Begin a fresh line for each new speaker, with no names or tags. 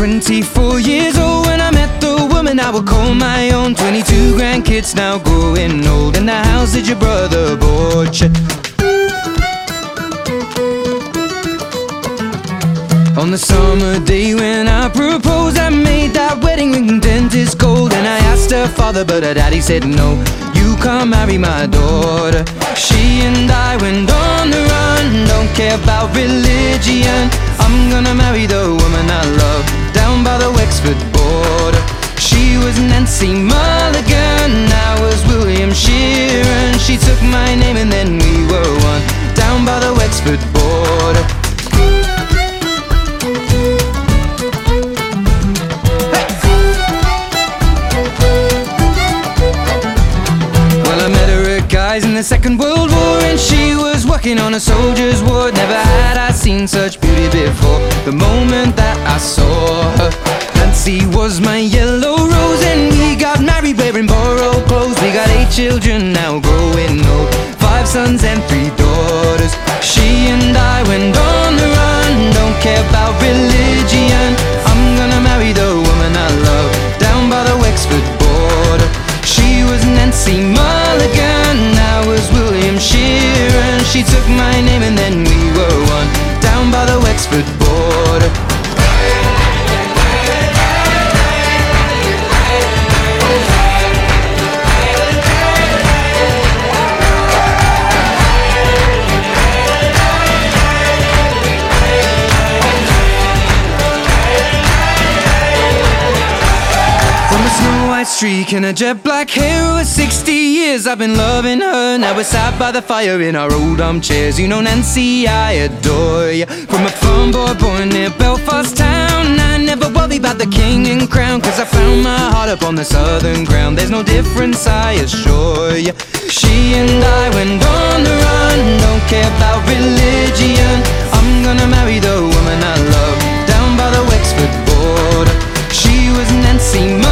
24 years old when I met the woman I would call my own. 22 grandkids now growing old, in the house that your brother bought you. On the summer day when I proposed, I made that wedding ring dentist gold. And I asked her father, but her daddy said no, you can't marry my daughter. She and I went on the run, don't care about religion. I'm gonna marry the woman I love, down by the Wexford border. She was Nancy Mulligan, I was William Sheeran. She took my name and then we were one, down by the Wexford border. In the Second World War, and she was working on a soldier's ward. Never had I seen such beauty before, the moment that I saw her. Nancy was my yellow rose, and we got married wearing borrowed clothes. We got 8 children now growing old, 5 sons and 3 daughters. She and I went on the run, don't care about religion. I'm gonna marry the woman I love, down by the Wexford border. She was Nancy Mulligan, I was William Sheeran. She took my name and then we were one, down by the Wexford border. Streak and a jet black hair, over 60 years I've been loving her. Now we're sat by the fire in our old armchairs. You know Nancy, I adore you. From a farm boy born near Belfast town, I never worry about the king and crown, cause I found my heart up on the southern ground. There's no difference, I assure you. She and I went on the run, don't care about religion. I'm gonna marry the woman I love, down by the Wexford border. She was Nancy